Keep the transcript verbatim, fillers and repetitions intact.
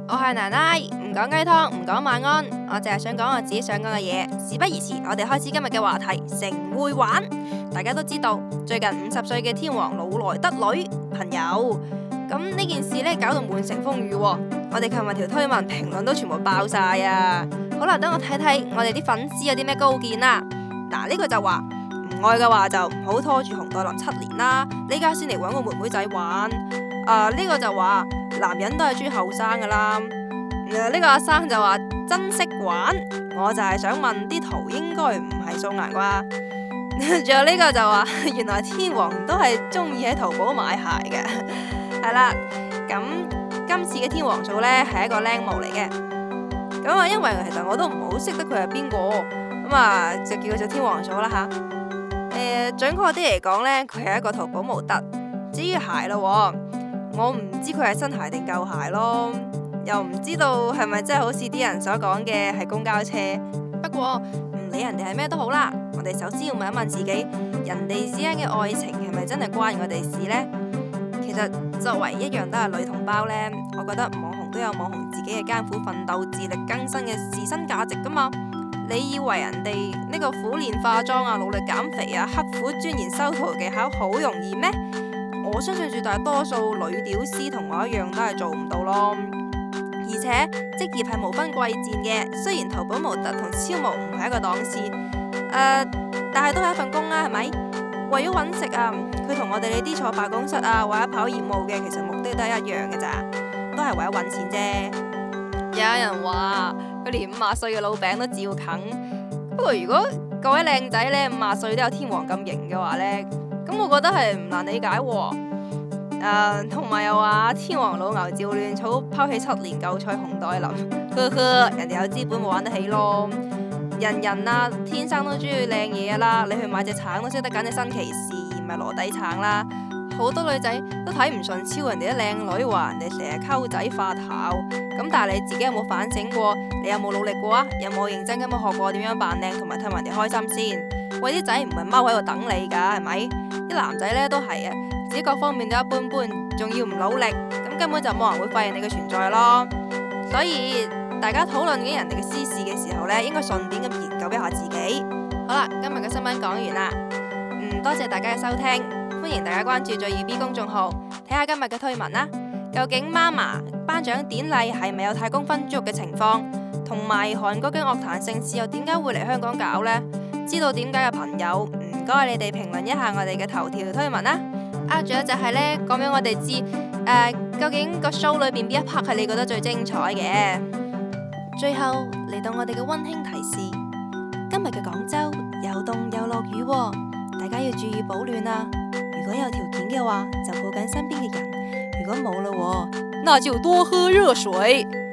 我係奶奶，唔講雞湯，唔講晚安，我淨係想講我自己想講嘅嘢。事不宜遲，我哋開始今日嘅話題。成會玩，大家都知道最近五十歲嘅天王老來得女朋友，咁呢件事呢搞到滿城風雨喎。我哋琴日條推文評論都全部爆晒啊！好啦，等我睇睇我哋啲粉絲有啲咩高見啦。嗱，呢個就話唔愛嘅話就唔好拖住熊黛林七年啦，呢家先嚟搵個妹妹仔玩。啊，呢個就話男人都係中意後生噶啦。呢個阿生就話珍惜玩，我就係想問啲圖應該唔係素顏啩？仲有呢個就話原來天王都係中意喺淘寶買鞋嘅。係啦，咁今次嘅天王嫂呢係一個靚模嚟嘅。咁啊，因為其實我都唔好識得佢係邊個，咁啊就叫佢做天王嫂啦吓。誒、呃，準確啲嚟講呢，佢係一個淘寶模特。至於鞋咯，我唔知佢係新鞋定舊鞋咯。又唔知道係咪真係好似啲人所講嘅係公交車。不過唔理人哋係咩都好啦，我哋首先要問一問自己，人哋之間嘅愛情係咪真係關我哋事呢？其實作為一樣都係女同胞呢，我覺得網紅都有網紅自己嘅艱苦奮鬥、自力更生嘅自身價值噶嘛。你以為人哋呢個苦練化妝啊、努力減肥啊、刻苦鑽研修圖技巧好容易咩？我相信絕大多數女屌絲同我一樣都係做唔到咯。而且職業係無分貴賤嘅，雖然淘寶模特同超模唔係一個檔次，誒、呃，但係都係一份工啦，係咪？為咗搵食啊，佢同我哋呢啲坐辦公室啊或者跑業務嘅，其實目的都係一樣嘅咋，都係為咗搵錢啫。有人話佢連五十歲嘅老餅都照啃，不過如果各位靚仔呢，五十歲都有天王咁型嘅話呢，咁我覺得係唔難理解喎。誒，同埋、uh, 又話天王老牛照亂草，拋棄七年舊菜熊黛林，呵呵，人哋有資本冇玩得起咯。人人啊，天生都中意靚嘢啦，你去買隻橙都識得揀隻新奇士，而唔係羅底橙啦。好多女仔都睇唔順超人哋啲靚女，話人哋成日溝仔化頭。咁但係你自己有冇反省過？你有冇努力過啊？有冇認真咁樣學過點樣扮靚，同埋氹人哋開心先？喂，啲仔唔係踎喺度等你噶，係咪？啲男仔呢都係啊。自己各方面都一般般，仲要唔努力，咁根本就冇人會發現你嘅存在咯。所以大家討論緊人哋嘅私事嘅時候呢，應該順便咁研究一下自己。好啦，今日嘅新聞講完啦，嗯，多謝大家嘅收聽，歡迎大家關注最耀 B 公眾號，睇下今日嘅推文啦。究竟 MAMA 頒獎典禮係咪有太公分豬肉嘅情況？同埋韓國嘅樂壇盛事又點解會嚟香港搞呢？知道點解嘅朋友，唔該你哋評論一下我哋嘅頭條推文啦。啊，仲有就係呢，講俾我哋知，誒、呃，究竟個 show 裏邊邊一 part 係你覺得最精彩嘅？最後嚟到我哋嘅溫馨提示，今日嘅廣州又凍又落雨喎，大家要注意保暖啊！如果有條件嘅話，就抱緊身邊嘅人；如果冇嘞，那就多喝熱水。